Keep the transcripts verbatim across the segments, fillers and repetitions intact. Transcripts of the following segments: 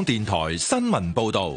電台新聞報道。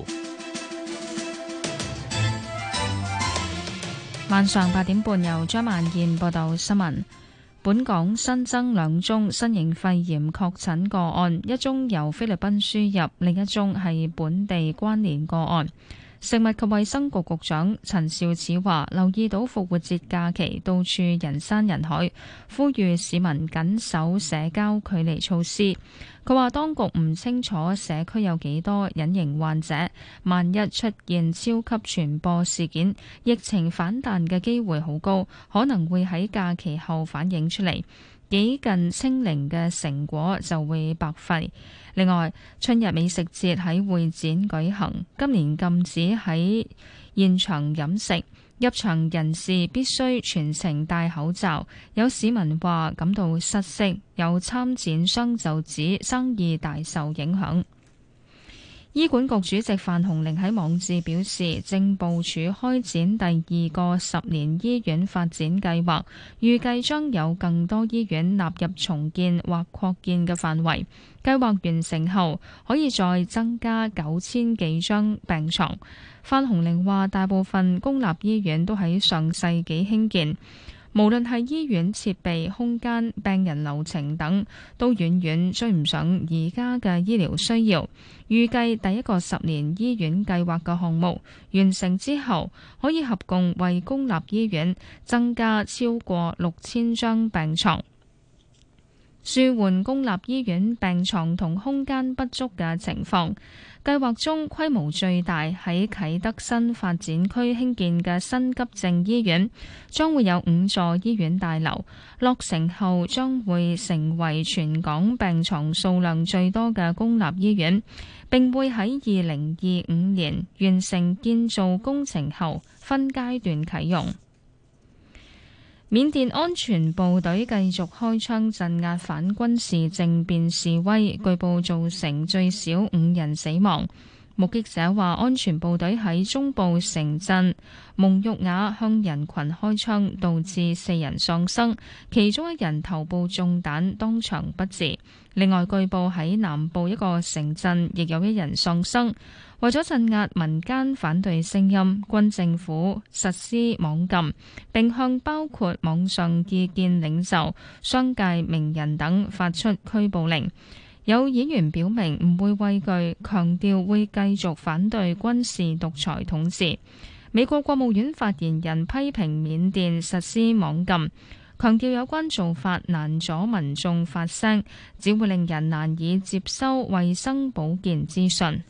晚上八點半由張萬燕報道新聞。本港新增兩宗新型肺炎確診個案，一宗由菲律賓輸入，另一宗係本地關聯個案。食物及衛生局局長陳肇始話：留意到復活節假期到處人山人海，呼籲市民緊守社交距離措施。佢話當局唔清楚社區有幾多隱形患者，萬一出現超級傳播事件，疫情反彈嘅機會好高，可能會喺假期後反映出嚟。幾近清零嘅成果就會白費。另外，春日美食節喺會展舉行，今年禁止喺現場飲食，入場人士必須全程戴口罩。有市民話感到失色，有參展商就指生意大受影響。醫管局主席范鴻齡喺網誌表示，正部署開展第二個十年醫院發展計劃，預計將有更多醫院納入重建或擴建嘅範圍。計劃完成後，可以再增加九千幾張病床。范鴻齡話，大部分公立醫院都喺上世紀興建，無論係醫院設備、空間、病人流程等，都遠遠追唔上而家嘅醫療需要。預計第一個十年醫院計劃嘅項目完成之後，可以合共為公立醫院增加超過六千張病床，舒緩公立醫院病床同空間不足嘅情況。計劃中規模最大喺啟德新發展區興建嘅新急症醫院，將會有五座醫院大樓，落成後將會成為全港病床數量最多嘅公立醫院，並會喺二零二五年完成建造工程後分階段啟用。緬甸安全部隊繼續開槍鎮壓反軍事政變示威，據報造成最少五人死亡。目擊者話，安全部隊喺中部城鎮蒙玉雅向人群開槍，導致四人喪生，其中一人頭部中彈，當場不治。另外，據報喺南部一個城鎮亦有一人喪生。為咗鎮壓民間反對聲音，軍政府實施網禁，並向包括網上意見領袖、商界名人等發出拘捕令。有演員表明唔會畏懼，強調會繼續反對軍事獨裁統治。美國國務院發言人批評緬甸實施網禁，強調有關做法難阻民眾發聲，只會令人難以接收衛生保健資訊。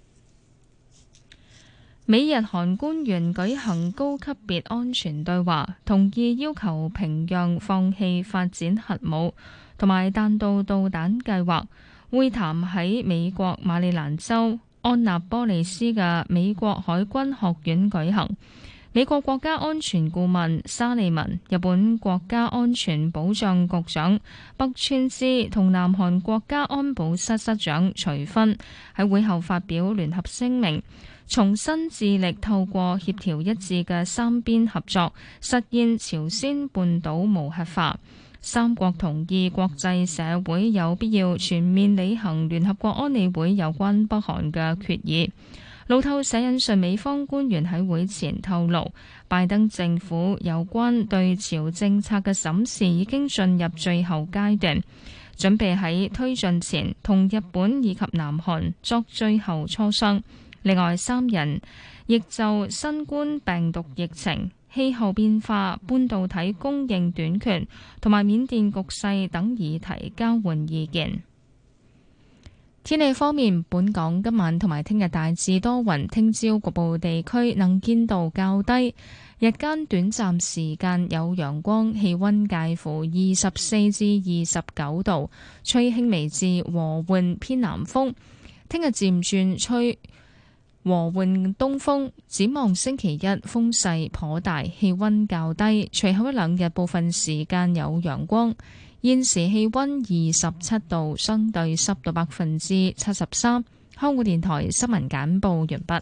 美日韓官員舉行高級別安全對話，同意要求平壤放棄發展核武同埋彈道導彈計劃。會談喺美國馬里蘭州安納波利斯嘅美國海軍學院舉行。美國國家安全顧問沙利文、日本國家安全保障局長北川之同南韓國家安保室室長徐薰喺會後發表聯合聲明，重新致力透過協調一致嘅三邊合作，實現朝鮮半島無核化。三國同意國際社會有必要全面履行聯合國安理會有關北韓嘅決議。路透社引述美方官員喺會前透露，拜登政府有關對朝政策嘅審視已經進入最後階段，準備喺推進前同日本以及南韓作最後磋商。另外，三人亦就新冠病毒疫情、氣候變化、半導體供應短缺同埋緬甸局勢等議題交換意見。天氣方面，本港今晚同埋聽日大致多雲，聽朝局部地區能見度較低，日間短暫時間有陽光，氣溫介乎二十四至二十九度，吹輕微至和緩偏南風。聽日漸轉吹和緩東風，展望星期一風勢頗大，氣溫較低。隨後一兩日部分時間有陽光。現時氣溫二十七度，相對濕度百分之七十三。香港電台新聞簡報完畢。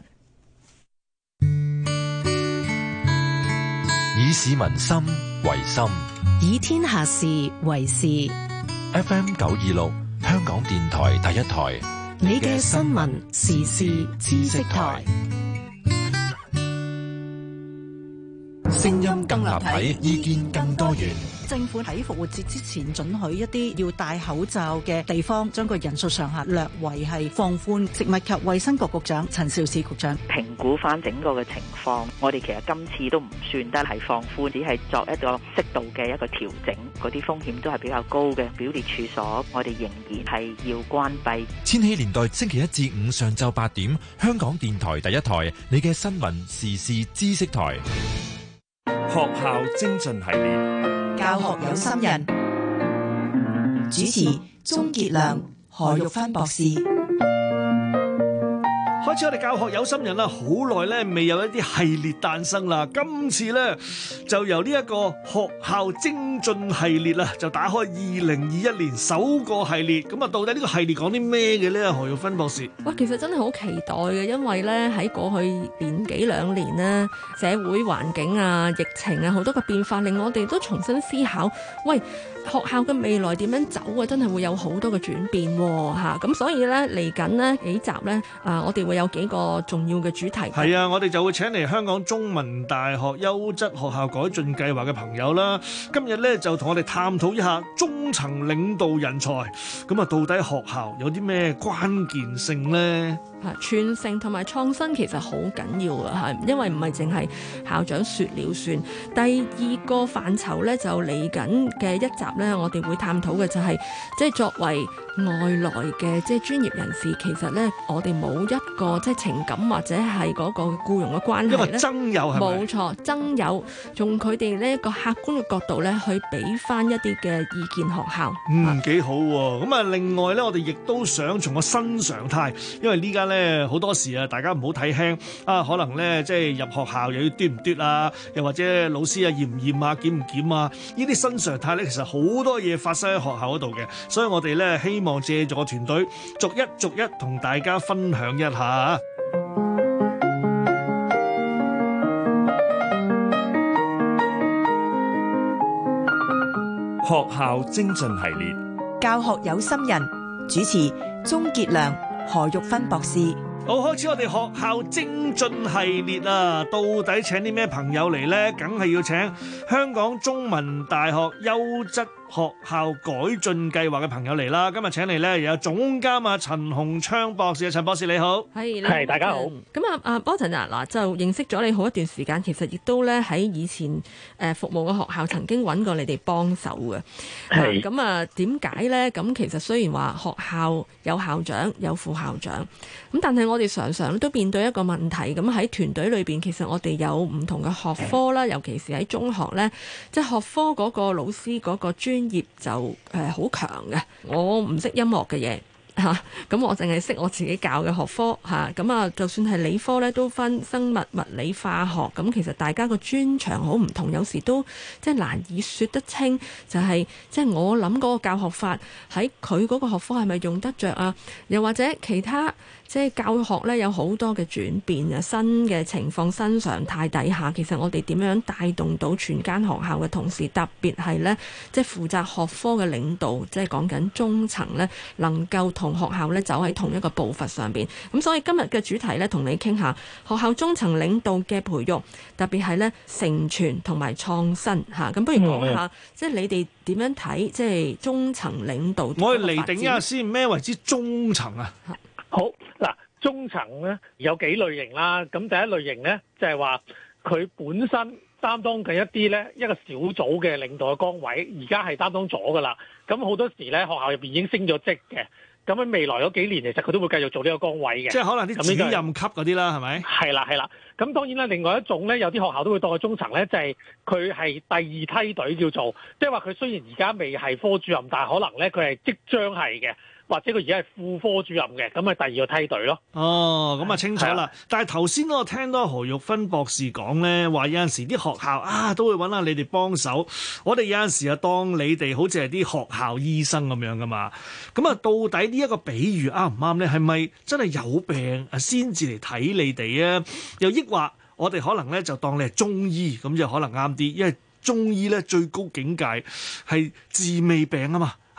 以市民心為心， 以天下事為事。 F M 九二六，香港電台第一台。 你嘅新聞時事知識台， 聲音更立體，意見更多元。 政府喺復活節之前准許一啲要戴口罩嘅地方，將個人數上限略為係放寬。食物及衛生局局長陳肇始局長評估翻整個嘅情況，我哋其實今次都唔算得係放寬，只係作一個適度嘅一個調整。嗰啲風險都係比較高嘅表列處所，我哋仍然係要關閉。 千禧年代星期一至五上晝八點，香港電台第一台，你嘅新聞時事知識台。 學校精進系列， 教學有心人，主持鍾傑良、何玉芬博士。 開始我哋教學有心人啦，好耐咧未有一啲系列誕生啦。今次咧就由呢一個學校精進系列啦，就打開二零二一年首個系列。咁啊，到底呢個系列講啲咩嘅咧？何玉芬博士， 哇，其實真係好期待嘅，因為咧喺過去年幾兩年咧，社會環境啊、疫情啊好多嘅變化，令我哋都重新思考，喂，學校嘅未來點樣走啊？真係會有好多嘅轉變喎，嚇！咁所以咧嚟緊呢幾集咧，啊，我哋會有幾個重要嘅主題。 係啊，我哋就會請嚟香港中文大學優質學校改進計劃嘅朋友啦。今日咧就同我哋探討一下中層領導人才。咁啊，到底學校有啲咩關鍵性呢？ 嚇，傳承同埋創新其實好緊要啊！嚇，因為唔係淨係校長説了算。第二個範疇咧就嚟緊嘅一集咧，我哋會探討嘅就係、是、即係作為外來嘅即係專業人士，其實咧我哋冇一個即係情感或者係嗰個僱傭嘅關係咧， 因為增友係咪？ 冇錯，增友從佢哋呢一個客觀嘅角度咧，去俾翻一啲嘅意見學校。 嗯，幾好喎！咁啊，另外咧，我哋亦都想從個新常態，因為呢家咧好多時啊，大家唔好睇輕啊，可能咧即係入學校又要嘟唔嘟啊，又或者老師啊驗唔驗啊、檢唔檢啊，呢啲新常態咧，其實好多嘢發生喺學校嗰度嘅，所以我哋咧希望借助個團隊，逐一逐一同大家分享一下。 學校精進系列， 教學有心人，主持鍾傑良、何玉芬博士。 好，開始我哋學校精進系列啊！到底請啲咩朋友嚟呢？梗係要請香港中文大學優質學校改進計劃嘅朋友嚟啦。今日請嚟咧，有總監啊陳鴻昌博士啊，陳博士你好， 係係大家好。咁啊啊 Boston 啊，嗱就認識咗你好一段時間，其實亦都咧喺以前誒服務嘅學校曾經揾過你哋幫手嘅。係咁啊，點解咧？咁其實雖然話學校有校長有副校長，咁但係我哋常常都面對一個問題。咁喺團隊裏邊，其實我哋有唔同嘅學科啦，尤其是喺中學咧，即係學科嗰個老師嗰個專業就誒好強嘅。我唔識音樂嘅嘢嚇，咁、啊、我淨係識我自己教嘅學科嚇。咁啊，就算係理科咧，都分生物、物理、化學。咁其實大家個專長好唔同，有時都即係難以説得清。就係即係我諗嗰個教學法喺佢嗰個學科係咪用得着啊？又或者其他？即係教學咧有好多嘅轉變啊，新嘅情況、新常態底下，其實我哋點樣帶動到全間學校嘅同事，特別係咧即係負責學科嘅領導，即係講緊中層咧，能夠同學校咧走喺同一個步伐上邊。咁所以今日嘅主題咧，同你傾下學校中層領導嘅培育，特別係咧承傳同埋創新嚇。咁不如講下，嗯、即係你哋點樣睇即係中層領導？ 我哋釐定一下先，咩為之中層啊？ 好嗱，中層咧有幾類型啦。咁第一類型咧，就係話佢本身擔當緊一啲咧一個小組嘅領導嘅崗位，而家係擔當咗噶啦。咁好多時咧，學校入邊已經升咗職嘅。咁喺未來嗰幾年，其實佢都會繼續做呢個崗位嘅。即係可能啲主任級嗰啲啦，係咪？係啦係啦。咁當然啦，另外一種咧，有啲學校都會當佢中層咧，就係佢係第二梯隊叫做，即係話佢雖然而家未係科主任，但係可能咧佢係即將係嘅。或者佢而家係副科主任嘅，咁咪第二個梯隊咯。哦，咁啊清楚啦。但係頭先我聽到何玉芬博士講咧，話有陣時啲學校啊都會揾下你哋幫手。我哋有陣時啊當你哋好似係啲學校醫生咁樣噶嘛。咁啊，到底呢一個比喻啱唔啱咧？係咪真係有病啊先至嚟睇你哋啊？又抑或我哋可能咧就當你係中醫咁就可能啱啲，因為中醫咧最高境界係治未病啊嘛。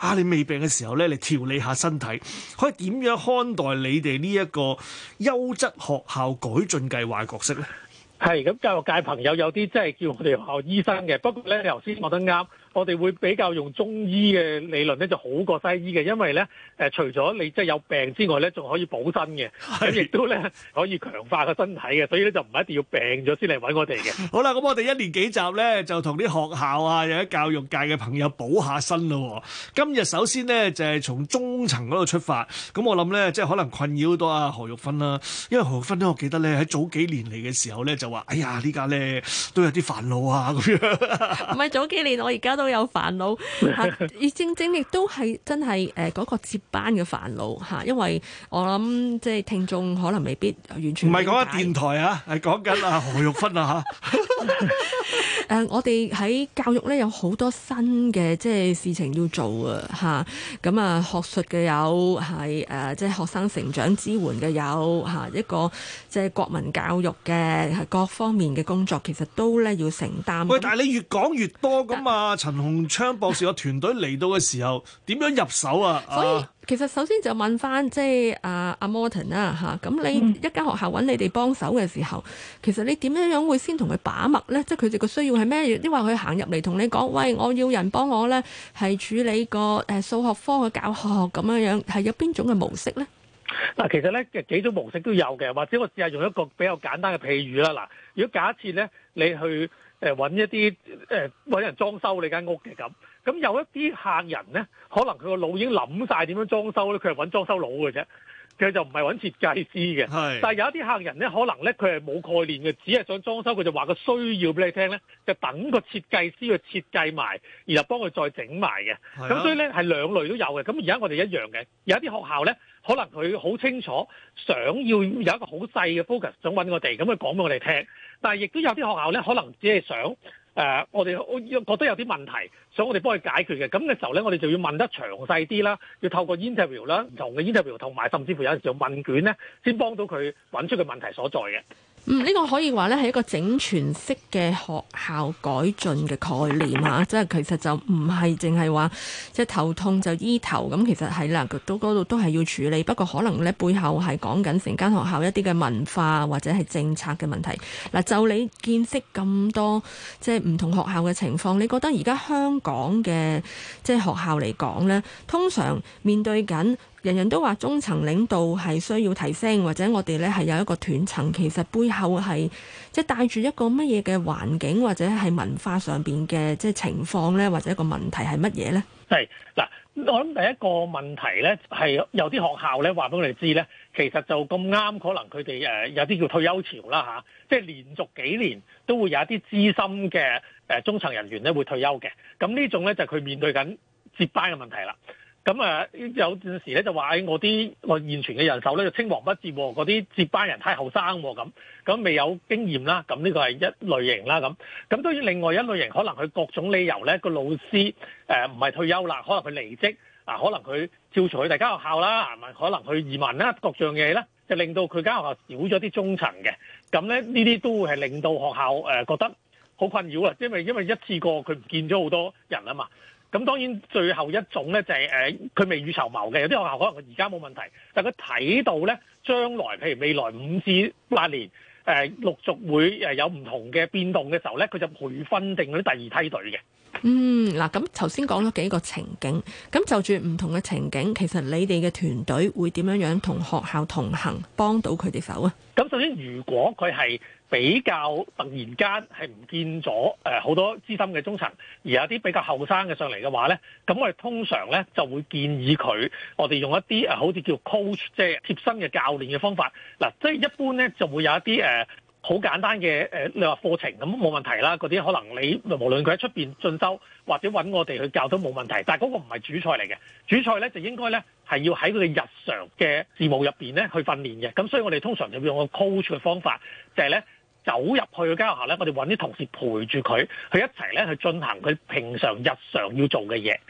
啊，你未病嘅時候咧，嚟調理下身體，可以點樣看待你哋呢一個優質學校改進計劃嘅角色咧？ 係咁，教育界朋友有啲即係叫我哋學校醫生嘅，不過咧你頭先講得啱。我哋會比較用中醫嘅理論咧，就好過西醫嘅，因為咧誒、呃，除咗你即係有病之外咧，仲可以補身嘅，咁亦都咧可以強化個身體嘅，所以咧就唔一定要病咗先嚟揾我哋嘅。 好啦，咁我哋一連幾集咧就同啲學校啊，有啲教育界嘅朋友補下身咯。今日首先咧就係、是、從中層嗰度出發，咁我諗咧即係可能困擾到阿何玉芬啦，因為何玉芬咧，我記得咧喺早幾年嚟嘅時候咧就話：哎呀，呢家咧都有啲煩惱啊咁樣。 唔係早幾年，我而家都有煩惱，而正正亦都係真係誒嗰個接班嘅煩惱嚇，因為我諗即係聽眾可能未必完全唔係講緊電台啊，係講緊阿何玉芬啊嚇。 誒，我哋喺教育咧有好多新嘅即係事情要做啊嚇，咁啊學術嘅有係誒，即係學生成長支援嘅有嚇，一個即係國民教育嘅各方面嘅工作，其實都咧要承擔。 喂，但係你越講越多咁啊！陳鴻昌博士個團隊嚟到嘅時候，點樣入手啊？ 所以其實首先就問翻即係阿阿 Morton 啦嚇，咁你一間學校揾你哋幫手嘅時候，其實你點樣樣會先同佢把脈咧？即係佢哋個需要係咩？抑或佢行入嚟同你講，喂，我要人幫我咧，係處理個誒數學科嘅教學咁樣樣，係有邊種嘅模式咧？ 嗱，其實咧幾種模式都有嘅，或者我試下用一個比較簡單嘅譬喻啦。嗱，如果假設咧你去誒揾一啲誒揾人裝修你間屋嘅咁，咁有一啲客人咧，可能佢個腦已經諗晒點樣裝修咧，佢係揾裝修佬嘅啫，佢就唔係揾設計師嘅。係，但係有一啲客人咧，可能咧佢係冇概念嘅，只係想裝修，佢就話個需要俾你聽咧，就等個設計師去設計埋，然後幫佢再整埋嘅。咁所以咧係兩類都有嘅。咁而家我哋一樣嘅，有一啲學校咧，可能佢好清楚想要有一個好細嘅 focus，想揾我哋，咁佢講俾我哋聽。但係亦都有啲學校咧，可能只係想誒、呃，我哋我覺得有啲問題，想我哋幫佢解決嘅。咁嘅時候咧，我哋就要問得詳細啲啦，要透過 interview 啦，唔同嘅 interview，同埋甚至乎有陣時用問卷咧，先幫到佢揾出個問題所在嘅。 嗯，呢、這個可以話咧係一個整全式嘅學校改進嘅概念啊，即係其實就唔係淨係話即係頭痛就醫頭，咁其實係啦，都嗰度都係要處理。不過可能咧背後係講緊成間學校一啲嘅文化或者係政策嘅問題。嗱，就你見識咁多即係唔同學校嘅情況，你覺得而家香港嘅即係學校嚟講咧，通常面對緊人人都話中層領導係需要提升，或者我哋咧係有一個斷層，其實背後係即係帶住一個乜嘢嘅環境，或者係文化上邊嘅即係情況咧，或者一個問題係乜嘢咧？ 係嗱，我諗第一個問題咧係有啲學校咧話俾我哋知咧，其實就咁啱，可能佢哋誒有啲叫退休潮啦嚇，即係連續幾年都會有一啲資深嘅誒中層人員咧會退休嘅，咁呢種咧就係佢面對緊接班嘅問題啦。咁啊，有陣時咧就話誒，我啲我現存嘅人手咧就青黃不接，嗰啲接班人太後生咁，咁未有經驗啦。咁呢個係一類型啦。咁咁當然另外一類型，可能佢各種理由咧，個老師誒唔係退休啦，可能佢離職啊，可能佢跳槽去第間學校啦，係咪？可能去移民啦，各樣嘢咧，就令到佢間學校少咗啲中層嘅。咁咧呢啲都會係令到學校誒覺得好困擾啊，因為因為一次過佢唔見咗好多人啊嘛。咁當然最後一種咧就係誒佢未雨綢繆嘅，有啲學校可能佢而家冇問題，但係佢睇到咧將來譬如未來五至八年誒、呃、陸續會誒有唔同嘅變動嘅時候咧，佢就培訓定嗰啲第二梯隊嘅。 嗯，嗱，咁頭先講咗幾個情景，咁就住唔同嘅情景，其實你哋嘅團隊會點樣樣同學校同行，幫到佢哋手啊？咁首先，如果佢係比較突然間係唔見咗誒好多資深嘅中層，而有啲比較後生嘅上嚟嘅話咧，咁我哋通常咧就會建議佢，我哋用一啲誒好似叫 coach，即係貼身嘅教練嘅方法。嗱，即係一般咧就會有一啲誒好簡單嘅誒，你話課程咁冇問題啦。嗰啲可能你無論佢喺出邊進修或者揾我哋去教都冇問題。但係嗰個唔係主菜嚟嘅，主菜咧就應該咧係要喺佢哋日常嘅事務入邊咧去訓練嘅。咁所以我哋通常就會用個 coach 嘅方法，就係咧走入去嗰間學校咧，我哋揾啲同事陪住佢，去一齊咧去進行佢平常日常要做嘅嘢。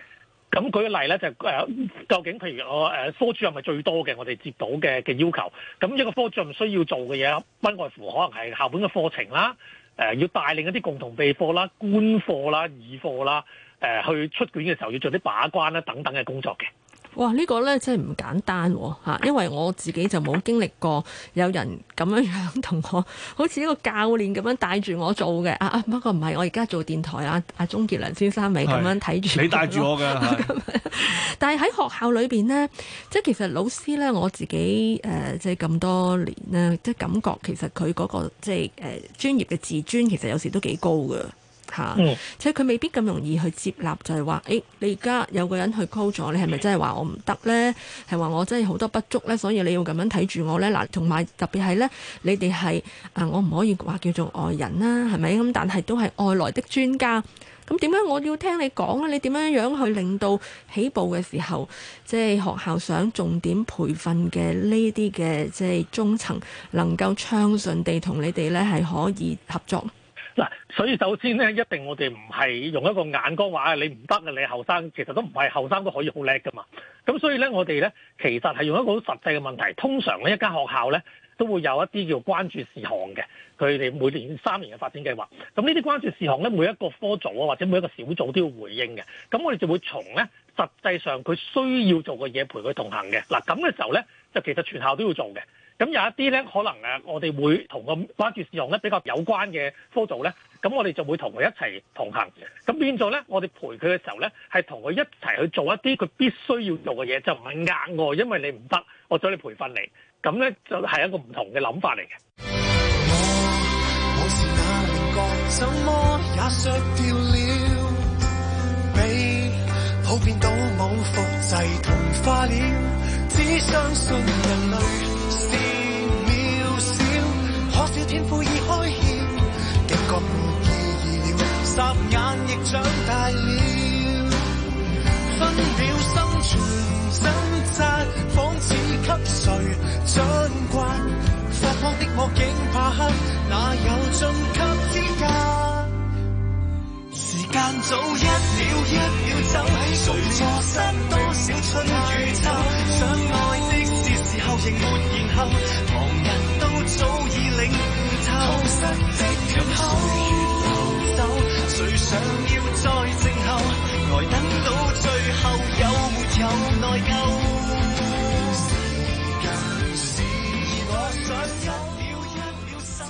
咁舉個例咧，就誒、呃、究竟譬如我誒、呃、科主任係最多嘅，我哋接到嘅嘅要求。咁一個科主任需要做嘅嘢，不外乎可能係校本嘅課程啦，誒、呃、要帶領一啲共同備課啦、官課啦、議課啦，誒、呃、去出卷嘅時候要做啲把關啦等等嘅工作嘅。 哇！呢、這個呢真係唔簡單喎，因為我自己就冇經歷過有人咁樣樣同我，好似一個教練咁樣帶住我做嘅。啊啊，不過唔係，我而家做電台啊，阿鍾傑良先生咪咁樣睇住。 你帶住我㗎。 但係喺學校裏邊呢，即係其實老師呢，我自己誒、呃、即係咁多年呢，即係感覺其實佢嗰、那個即係誒、呃、專業嘅自尊，其實有時都幾高㗎。嚇， 嗯、 即係佢未必咁容易去接納，就係話，誒，你而家有個人去 call 咗，你係咪真係話我唔得呢？係話我真係好多不足呢？所以你要咁樣睇住我呢？嗱，同埋特別係呢，你哋係啊，我唔可以話叫做外人啦，係咪咁？但係都係外來的專家，咁點解我要聽你講呢？你點樣樣去令到起步嘅時候，即係學校想重點培訓嘅呢啲嘅即係中層，能夠暢順地同你哋呢係可以合作？ 嗱，所以首先咧，一定我哋唔係用一個眼光話你唔得啊，你後生，其實都唔係後生都可以好叻噶嘛。咁所以咧，我哋咧其實係用一個好實際嘅問題。通常咧，一間學校咧都會有一啲叫關注事項嘅，佢哋每年三年嘅發展計劃。咁呢啲關注事項咧，每一個科組啊或者每一個小組都要回應嘅。咁我哋就會從咧實際上佢需要做嘅嘢陪佢同行嘅。嗱，咁嘅時候咧，就其實全校都要做嘅。咁有一啲咧，可能誒，我哋會同個關注事項咧比較有關嘅科組咧，咁我哋就會同佢一齊同行。咁變咗咧，我哋陪佢嘅時候咧，係同佢一齊去做一啲佢必須要做嘅嘢，就唔係額外，因為你唔得，我再你培訓你。咁咧就係一個唔同嘅諗法嚟嘅。 我是那稜角，怎麼也削掉了，被普遍倒模複製同化了，只相信人類是渺小，可笑天賦已開竅，警覺沒意義了，霎眼亦長大了，分秒生存掙扎，仿似給誰掌摑，發光的我竟怕黑，哪有晉級資格？時間早一秒一秒走，誰錯失多少春與秋？想愛的是時候仍沒然後，旁人都早已領悟透。痛失的缺口，歲月流走，誰想要再靜候？呆等到最後有沒有內疚？時間是我想一秒一秒守。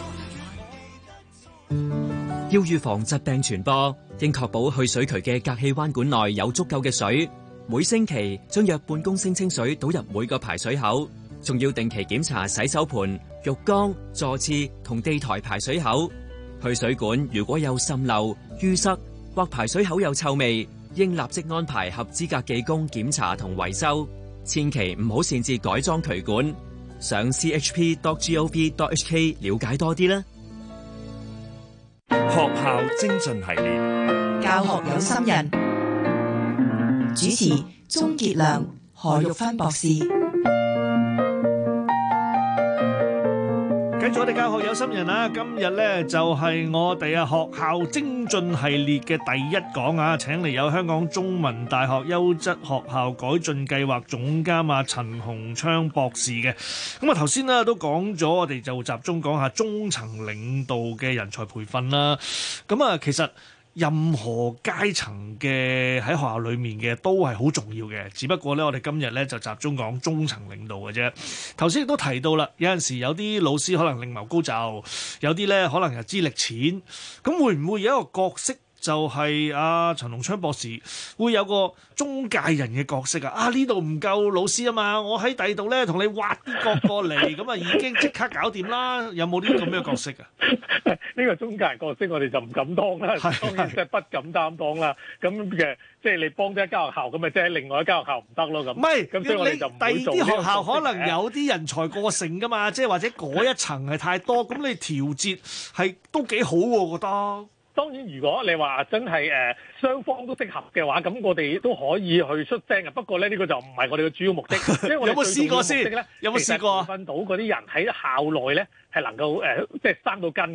要預防疾病傳播，應確保去水渠嘅隔氣彎管內有足夠嘅水。每星期將約半公升清水倒入每個排水口，仲要定期檢查洗手盆、浴缸、座廁同地台排水口。去水管如果有滲漏、淤塞或排水口有臭味，應立即安排合資格技工檢查同維修。千祈唔好擅自改裝渠管。上 c h p dot gov dot h k 了解多啲啦。 學校精進系列， 教學有心人，主持鍾傑良、何玉芬博士。 繼續我哋教學有心人啊！今日咧就係我哋啊學校精進系列嘅第一講啊，請嚟有香港中文大學優質學校改進計劃總監啊陳鴻昌博士嘅。咁啊頭先咧都講咗，我哋就集中講下中層領導嘅人才培訓啦。咁啊其實任何階層嘅喺學校裏面嘅都係好重要嘅，只不過咧我哋今日咧就集中講中層領導嘅啫。頭先亦都提到啦，有陣時有啲老師可能另謀高就，有啲咧可能又資歷淺，咁會唔會有一個角色就係阿陳鴻昌博士會有個中介人嘅角色啊？啊呢度唔夠老師啊嘛，我喺第二度咧同你挖啲角過嚟，咁啊已經即刻搞掂啦。有冇呢啲咁樣嘅角色啊？ 呢個中介人角色我哋就唔敢當啦，當然即係不敢擔當啦。咁嘅即係你幫咗一間學校，咁咪即係另外一間學校唔得咯咁。唔係，咁所以我哋就唔會做呢個角色。第二啲學校可能有啲人才過剩噶嘛，即係或者嗰一層係太多，咁你調節係都幾好喎，我覺得。當然，如果你話真係誒雙方都適合嘅話，咁我哋都可以去出聲嘅。不過咧，呢個就唔係我哋嘅主要目的。因為我哋有冇試過先？有冇試過？訓到嗰啲人喺校內咧係能夠誒即係生到根嘅。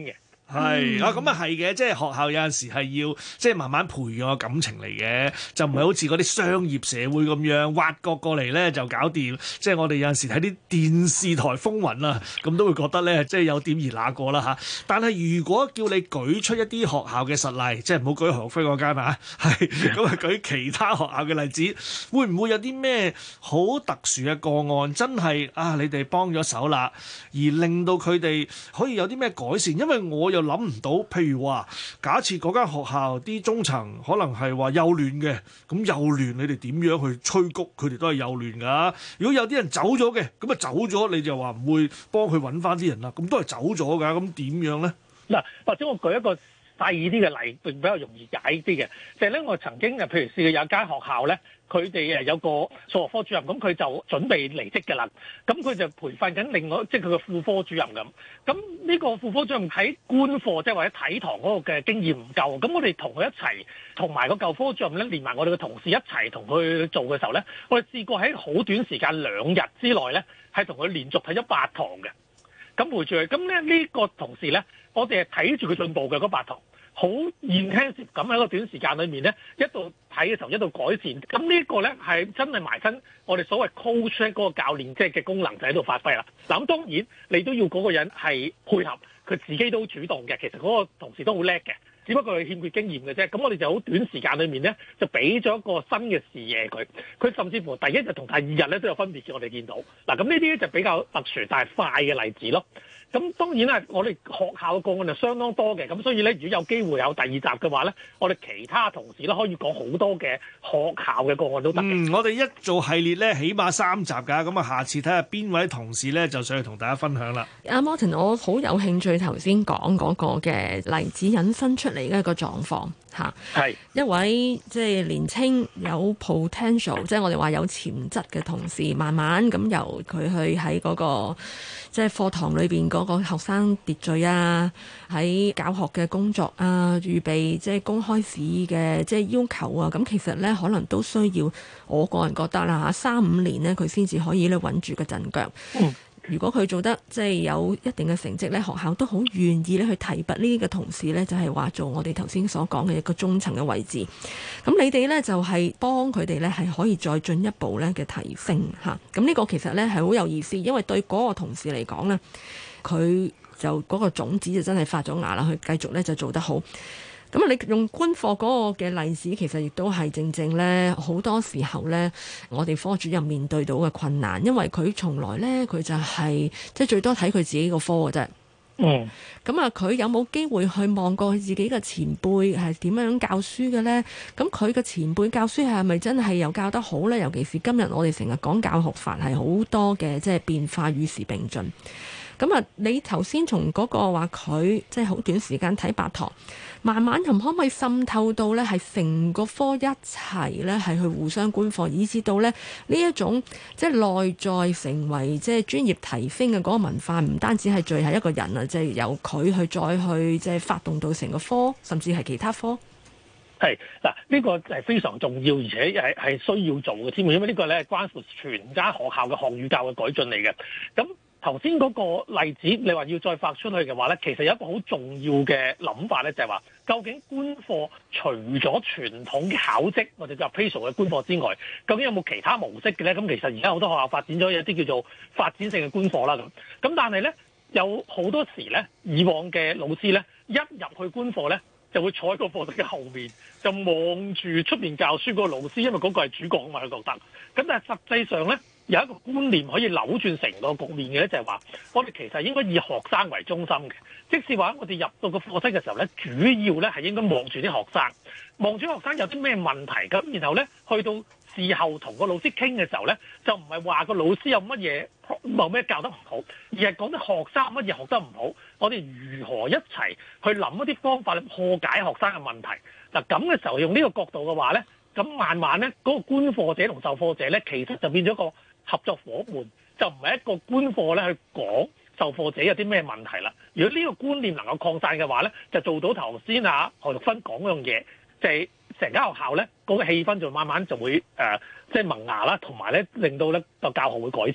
係啊，咁啊係嘅，即係學校有陣時係要即係慢慢培養個感情嚟嘅，就唔係好似嗰啲商業社會咁樣挖角過嚟咧就搞掂。即係我哋有陣時睇啲電視台風雲啊，咁都會覺得咧即係有點兒那個啦嚇。但係如果叫你舉出一啲學校嘅實例，即係唔好舉何飛嗰間啊，係咁啊舉其他學校嘅例子，會唔會有啲咩好特殊嘅個案？真係啊，你哋幫咗手啦，而令到佢哋可以有啲咩改善？因為我又諗唔到，譬如話，假設嗰間學校啲中層可能係話幼聯嘅，咁幼聯你哋點樣去催谷佢哋都係幼聯㗎？如果有啲人走咗嘅，咁啊走咗，你就話唔會幫佢揾翻啲人啦，咁都係走咗㗎，咁點樣咧？ 嗱，或者我舉一個細啲嘅例，並比較容易解啲嘅，就係咧，我曾經誒，譬如試過有間學校咧。佢哋誒有個數學科主任，咁佢就準備離職㗎啦。咁佢就培訓緊另外，即係佢嘅副科主任咁。咁呢個副科主任喺觀課，即係或者睇堂嗰個嘅經驗唔夠。咁我哋同佢一齊，同埋個舊科主任咧，連埋我哋嘅同事一齊同佢做嘅時候咧，我哋試過喺好短時間兩日之內咧，係同佢連續睇咗八堂嘅。咁陪住佢，咁咧呢個同事咧，我哋係睇住佢進步嘅嗰八堂。好現聽接咁喺個短時間裏面咧，一度睇嘅時候一度改善，咁呢個咧係真係埋身我哋所謂 coach 嗰個教練即係嘅功能就喺度發揮啦。嗱咁當然你都要嗰個人係配合，佢自己都主動嘅，其實嗰個同事都好叻嘅，只不過佢欠缺經驗嘅啫。咁我哋就好短時間裏面咧，就俾咗一個新嘅視野佢，佢甚至乎第一日同第二日咧都有分別嘅，我哋見到。嗱咁呢啲就比較特殊但係快嘅例子咯。咁當然啦，我哋學校嘅個案就相當多嘅，咁所以咧，如果有機會有第二集嘅話咧，我哋其他同事咧可以講好多嘅學校嘅個案都得嘅。 嗯，我哋一做系列咧，起碼三集㗎，咁啊，下次睇下邊位同事咧就上去同大家分享啦。 阿 Martin，我好有興趣頭先講嗰個嘅例子引申出嚟嘅一個狀況嚇，係一位即係年青有 potential，即係我哋話有潛質嘅同事，慢慢咁由佢去喺嗰個即係課堂裏邊嗰個學生秩序啊，喺教學嘅工作啊，預備即係公開試嘅即係要求啊，咁其實咧可能都需要，我個人覺得啦嚇，三五年咧佢先至可以咧穩住個陣腳。嗯，如果佢做得即係有一定嘅成績咧，學校都好願意咧去提拔呢啲嘅同事咧，就係話做我哋頭先所講嘅一個中層嘅位置。咁你哋咧就係幫佢哋咧係可以再進一步咧嘅提升嚇。咁呢個其實咧係好有意思，因為對嗰個同事嚟講咧，佢就嗰個種子就真係發咗芽啦，佢繼續咧就做得好。咁啊，你用觀課嗰個嘅例子，其實亦都係正正咧，好多時候咧，我哋科主任面對到嘅困難，因為佢從來咧，佢就係即係最多睇佢自己個科嘅啫。嗯。咁啊，佢有冇機會去望過佢自己嘅前輩係點樣教書嘅咧？咁佢嘅前輩教書係咪真係又教得好咧？尤其是今日我哋成日講教學法係好多嘅，即係變化與時並進。咁啊，你頭先從嗰個話佢即係好短時間睇八堂，慢慢咁可唔可以滲透到咧係成個科一齊咧係去互相觀課，以至到咧呢一種即係內在成為即係專業提升嘅嗰個文化，唔單止係聚係一個人啊，即係由佢去再去即係發動到成個科，甚至係其他科。 係嗱，呢個係非常重要，而且係係需要做嘅添，因為呢個咧係關乎全間學校嘅學與教嘅改進嚟嘅。咁頭先嗰個例子，你話要再發出去嘅話咧，其實有一個好重要嘅諗法咧，就係話究竟觀課除咗傳統嘅考績或者叫 appraisal 嘅觀課之外，究竟有冇其他模式嘅咧？咁其實而家好多學校發展咗一啲叫做發展性嘅觀課啦，咁咁但係咧有好多時咧，以往嘅老師咧一入去觀課咧，就會坐喺個課室嘅後面，就望住出面教書嗰個老師，因為嗰個係主角啊嘛，佢覺得。咁但係實際上咧，有一個觀念可以扭轉成個局面嘅咧，就係話我哋其實應該以學生為中心嘅。即使話我哋入到個課室嘅時候咧，主要咧係應該望住啲學生，望住學生有啲咩問題咁，然後咧去到事後同個老師傾嘅時候咧，就唔係話個老師有乜嘢冇咩教得唔好，而係講啲學生乜嘢學得唔好，我哋如何一齊去諗一啲方法去破解學生嘅問題。嗱咁嘅時候用呢個角度嘅話咧，咁慢慢咧嗰個觀課者同授課者咧，其實就變咗個合作夥伴，就唔係一個觀課咧去講授課者有啲咩問題啦。如果呢個觀念能夠擴散嘅話咧，就做到頭先啊何玉芬講嗰樣嘢，就係成間學校咧嗰個氣氛就慢慢就會誒即係萌芽啦，同埋咧令到咧個教學會改善。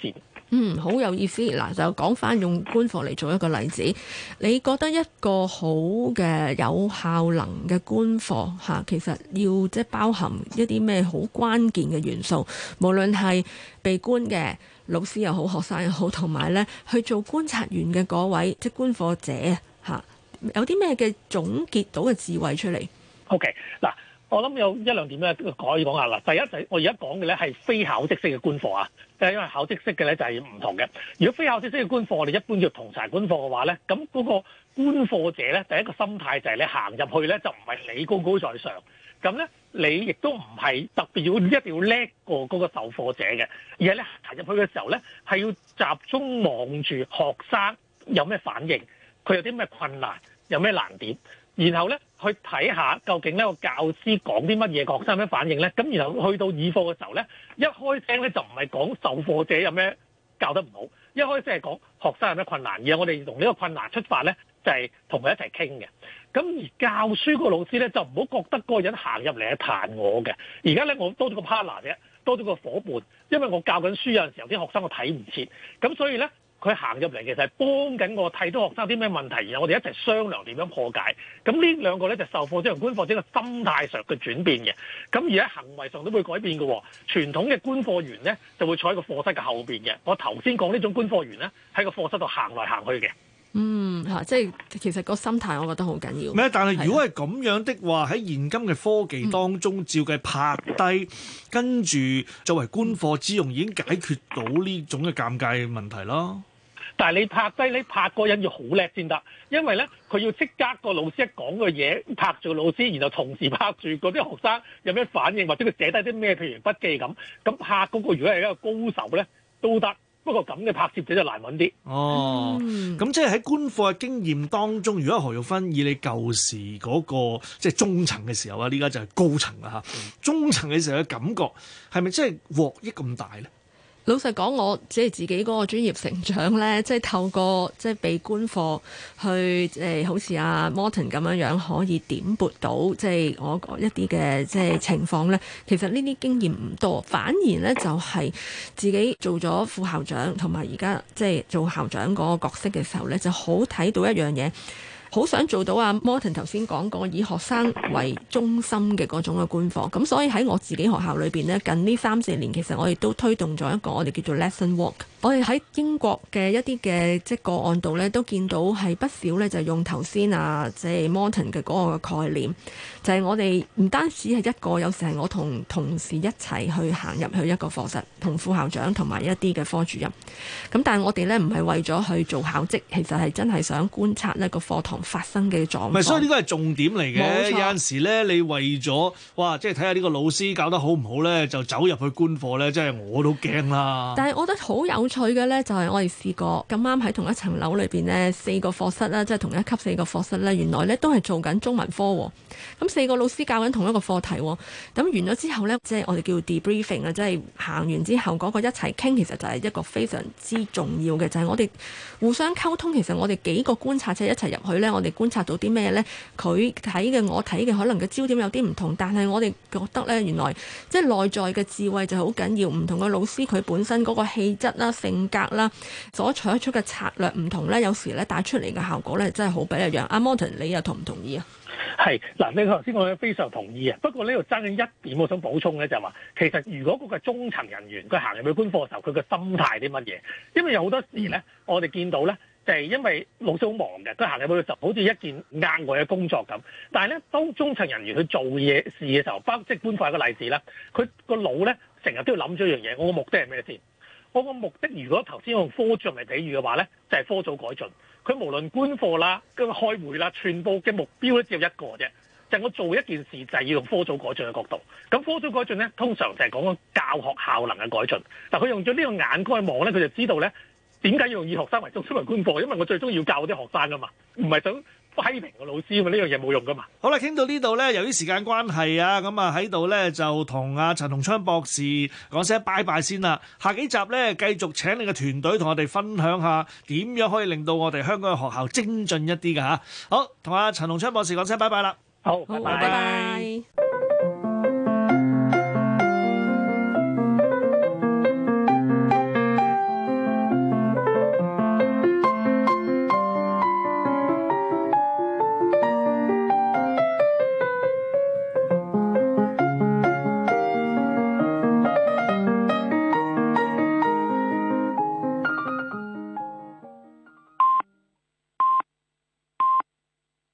嗯，好有意思。嗱，就講翻用官課嚟做一個例子，你覺得一個好嘅有效能嘅官課嚇，其實要即係包含一啲咩好關鍵嘅元素，無論係被官嘅老師又好，學生又好，同埋咧去做觀察員嘅嗰位即係官課者嚇，有啲咩嘅總結到嘅智慧出嚟 ？OK， 嗱。我諗有一兩點咧，可以講下啦。第一就係我而家講嘅咧係非考績式嘅官課啊，即係因為考績式嘅咧就係唔同嘅。如果非考績式嘅官課，我哋一般叫同柴官課嘅話咧，咁嗰個官課者咧，第一個心態就係你行入去咧就唔係你高高在上，咁咧你亦都唔係特別要一定要叻過嗰個授課者嘅，而係咧行入去嘅時候咧係要集中望住學生有咩反應，佢有啲咩困難，有咩難點。然後咧去睇下究竟呢個教師講啲乜嘢，學生有咩反應咧？咁然後去到議課嘅時候咧，一開聲咧就唔係講授課者有咩教得唔好，一開聲係講學生有咩困難，而係我哋從呢個困難出發咧，就係同佢一齊傾嘅。咁而教書個老師咧就唔好覺得嗰個人行入嚟係彈我嘅。而家咧我多咗個 partner 啫，多咗個伙伴，因為我教緊書有陣時候啲學生我睇唔切，咁所以咧。佢行入嚟其實係幫緊我睇到學生啲咩問題，然後我哋一齊商量點樣破解。咁呢兩個咧就授課者同官課者個心態上嘅轉變嘅。咁而喺行為上都會改變嘅。傳統嘅官課員咧就會坐喺個課室嘅後邊嘅。我頭先講呢種官課員咧喺個課室度行來行去嘅。 嗯嚇，即係其實個心態，我覺得好緊要。 咩？但係如果係咁樣的話，喺現今嘅科技當中，嗯、照計拍低，跟住作為官課之用，已經解決到呢種嘅尷尬問題啦。 但係你拍低，你拍個人要好叻先得，因為咧佢要即刻個老師一講嘅嘢拍住個老師，然後同時拍住嗰啲學生有咩反應，或者佢寫低啲咩，譬如筆記咁。咁拍嗰個如果係一個高手咧都得，不過咁嘅拍攝者就難揾啲。 哦，咁、嗯、即係喺官課嘅經驗當中，如果何玉芬以你舊時嗰、那個即係、就是、中層嘅時候啊，呢家就係高層啦嚇。嗯、中層嘅時候嘅感覺係咪真係獲益咁大咧？ 老實講，我即係自己嗰個專業成長咧，即係透過即係被官課去誒，好似阿 Morton 咁樣樣，可以點撥到即係我一啲嘅即係情況咧。其實呢啲經驗唔多，反而咧就係自己做咗副校長，同埋而家即係做校長嗰個角色嘅時候咧，就好睇到一樣嘢。好想做到阿 Morton 頭先講過以學生為中心嘅嗰種嘅官課，咁所以喺我自己學校裏邊呢，近呢三四年其實我哋都推動咗一個我哋叫做 lesson walk。我哋喺英國嘅一啲嘅即係個案度呢，都見到係不少呢，就用頭先啊即係 Morton 嘅嗰個概念，就係、是、我哋唔單止係一個，有時係我同同事一齊去行入去一個課室，同副校長同埋一啲嘅科主任。咁但係我哋呢，唔係為咗去做考績，其實係真係想觀察呢個課堂發生嘅狀況。唔係， 所以呢個係重點嚟嘅。有陣時咧，你為咗哇，即係睇下呢個老師教得好唔好咧，就走入去官課咧，真係我都驚啦。 但係我覺得好有趣嘅咧，就係我哋試過咁啱喺同一層樓裏邊呢，四個課室啦，即係同一級四個課室咧，原來咧都係做緊中文科。咁四個老師教緊同一個課題。咁完咗之後咧，即係我哋叫 debriefing 啊，即係行完之後嗰個一齊傾，其實就係一個非常之重要嘅，就係我哋互相溝通。其實我哋幾個觀察者一齊入去咧，我哋觀察到啲咩呢？佢睇嘅我睇嘅可能嘅焦點有啲唔同，但係我哋覺得呢，原來即係內在嘅智慧就好緊要。唔同嘅老師佢本身嗰個氣質啦、性格啦，所採取嘅策略唔同呢，有時呢帶出嚟嘅效果呢，真係好不一樣。阿 Morton，你又同唔同意啊？ 係嗱，你頭先我非常同意啊。不過呢度爭緊一點，我想補充咧，就係話其實如果嗰個中層人員佢行入去官課嘅時候，佢嘅心態啲乜嘢？因為有好多時咧，我哋見到咧。就係因為老師好忙嘅，佢行入去就好似一件額外嘅工作咁。但係咧，當中層人員去做嘢事嘅時候，包括即係官課一個例子啦，佢個腦咧成日都要諗咗一樣嘢，我個目的係咩先？我個目的如果頭先用科主任嚟比喻嘅話咧，就係、是、科組改進。佢無論官課啦、跟開會啦，全部嘅目標咧只有一個啫，就係、是、我做一件事就係要用科組改進嘅角度。咁科組改進咧，通常就係講緊教學效能嘅改進。但佢用咗呢個眼光去望咧，佢就知道咧。點解要用以學生為中心為官課？因為我最終要教啲學生噶嘛，唔係想批評個老師嘛，呢樣嘢冇用噶嘛。 好啦，傾到呢度咧，由於時間關係啊，咁啊喺度咧就同阿陳鴻昌博士講聲拜拜先啦。下幾集咧繼續請你嘅團隊同我哋分享下點樣可以令到我哋香港嘅學校精進一啲㗎吓。好，同阿陳鴻昌博士講聲拜拜啦。 好， 拜拜。